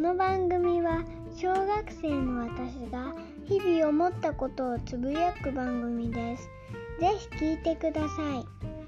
の番組は小学生の私が日々思ったことをつぶやく番組です。ぜひ聞いてください。